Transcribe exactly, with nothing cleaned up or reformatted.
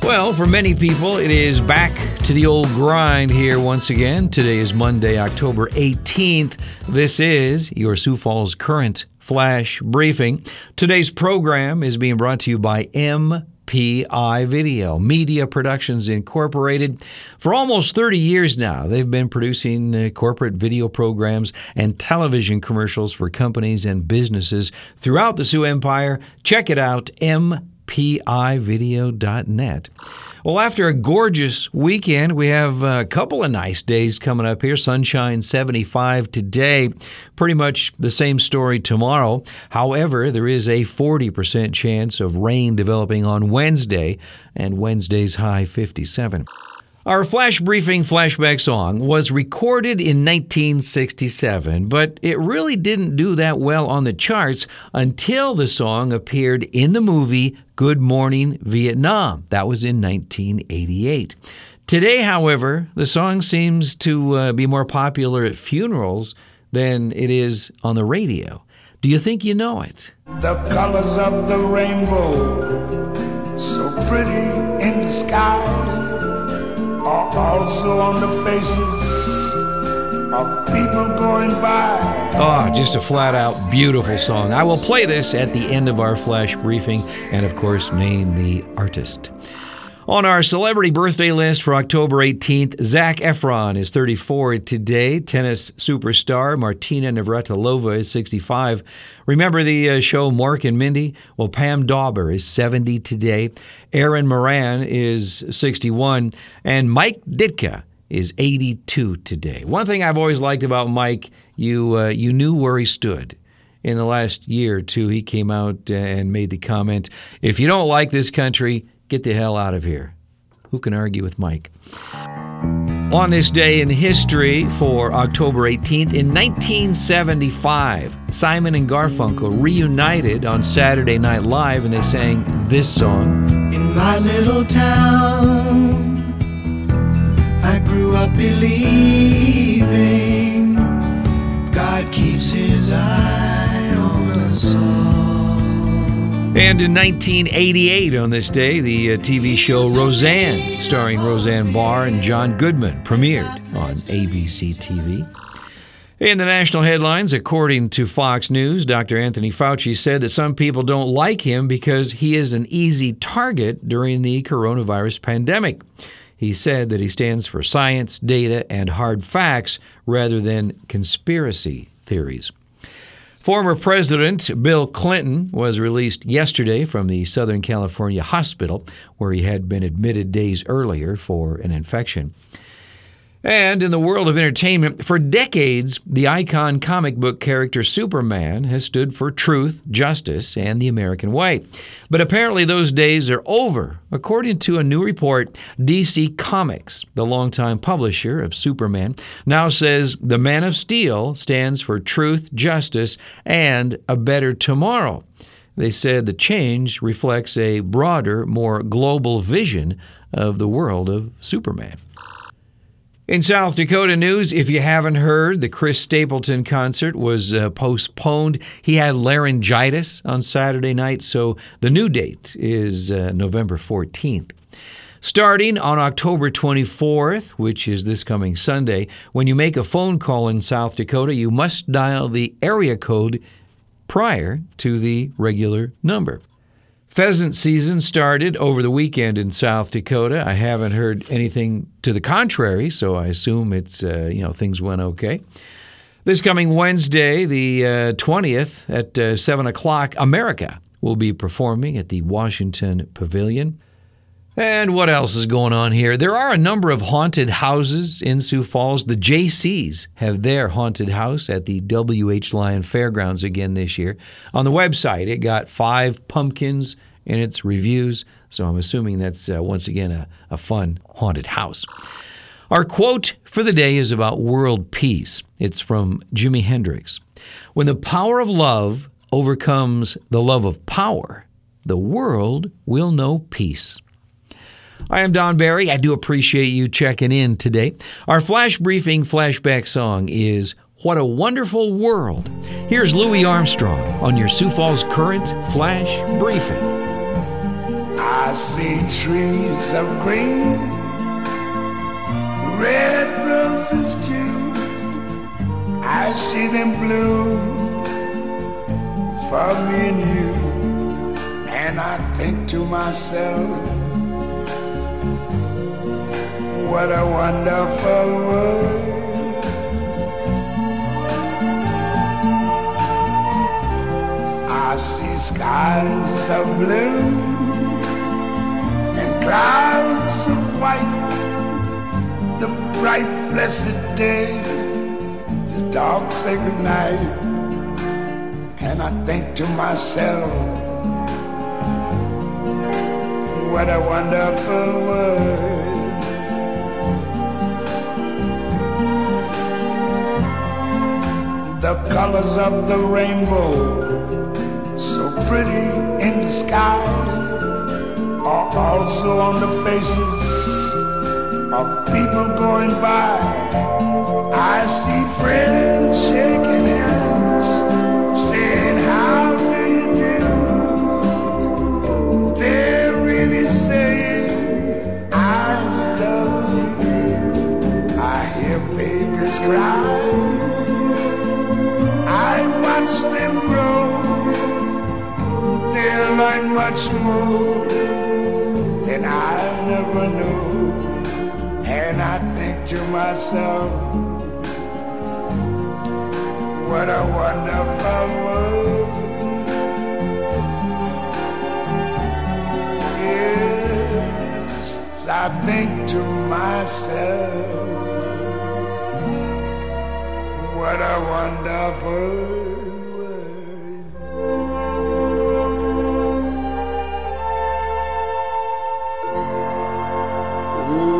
Well, for many people, it is back to the old grind here once again. Today is Monday, October eighteenth. This is your Sioux Falls Current Flash Briefing. Today's program is being brought to you by M P I Video, Media Productions Incorporated. For almost thirty years now, they've been producing uh, corporate video programs and television commercials for companies and businesses throughout the Sioux Empire. Check it out, M P I video dot net. Well, after a gorgeous weekend, we have a couple of nice days coming up here. Sunshine seventy-five today. Pretty much the same story tomorrow. However, there is a forty percent chance of rain developing on Wednesday, and Wednesday's high fifty-seven. Our Flash Briefing flashback song was recorded in nineteen sixty-seven, but it really didn't do that well on the charts until the song appeared in the movie Good Morning Vietnam. That was in nineteen eighty-eight. Today, however, the song seems to uh, be more popular at funerals than it is on the radio. Do you think you know it? The colors of the rainbow, so pretty in the sky, are also on the faces of people going by. Oh, just a flat-out beautiful song. I will play this at the end of our Flash Briefing and, of course, name the artist. On our celebrity birthday list for October eighteenth, Zac Efron is thirty-four today. Tennis superstar Martina Navratilova is sixty-five. Remember the uh, show Mork and Mindy? Well, Pam Dauber is seventy today. Aaron Moran is sixty-one. And Mike Ditka is eighty-two today. One thing I've always liked about Mike, you uh, you knew where he stood. In the last year or two, he came out and made the comment, if you don't like this country, get the hell out of here. Who can argue with Mike? On this day in history for October eighteenth, in nineteen seventy-five, Simon and Garfunkel reunited on Saturday Night Live, and they sang this song. In my little town, I grew up believing God keeps his eye on us all. And in nineteen eighty-eight, on this day, the uh, T V show Roseanne, starring Roseanne Barr and John Goodman, premiered on A B C T V. In the national headlines, according to Fox News, Doctor Anthony Fauci said that some people don't like him because he is an easy target during the coronavirus pandemic. He said that he stands for science, data, and hard facts rather than conspiracy theories. Former President Bill Clinton was released yesterday from the Southern California hospital where he had been admitted days earlier for an infection. And in the world of entertainment, for decades, the icon comic book character Superman has stood for truth, justice, and the American way. But apparently those days are over. According to a new report, D C Comics, the longtime publisher of Superman, now says the Man of Steel stands for truth, justice, and a better tomorrow. They said the change reflects a broader, more global vision of the world of Superman. In South Dakota news, if you haven't heard, the Chris Stapleton concert was uh, postponed. He had laryngitis on Saturday night, so the new date is uh, November fourteenth. Starting on October twenty-fourth, which is this coming Sunday, when you make a phone call in South Dakota, you must dial the area code prior to the regular number. Pheasant season started over the weekend in South Dakota. I haven't heard anything to the contrary, so I assume it's uh, you know things went okay. This coming Wednesday, the uh, twentieth at uh, seven o'clock, America will be performing at the Washington Pavilion. And what else is going on here? There are a number of haunted houses in Sioux Falls. The J Cs have their haunted house at the W H Lyon Fairgrounds again this year. On the website, it got five pumpkins in its reviews, so I'm assuming that's uh, once again a, a fun haunted house. Our quote for the day is about world peace. It's from Jimi Hendrix. When the power of love overcomes the love of power, the world will know peace. I am Don Barry. I do appreciate you checking in today. Our Flash Briefing flashback song is What a Wonderful World. Here's Louis Armstrong on your Sioux Falls Current Flash Briefing. I I see trees of green, red roses too. I see them bloom for me and you. And I think to myself, what a wonderful world. I see skies of blue and clouds of white, the bright blessed day, the dark sacred night. And I think to myself, what a wonderful world. The colors of the rainbow, so pretty in the sky, are also on the faces of people going by. I see friends shaking hands, saying, how do you do? They're really saying, I love you. I hear babies cry, I watch them grow. They'll learn much more than I never knew. And I think to myself, what a wonderful world. Yes, I think to myself, what a wonderful world. Ooh.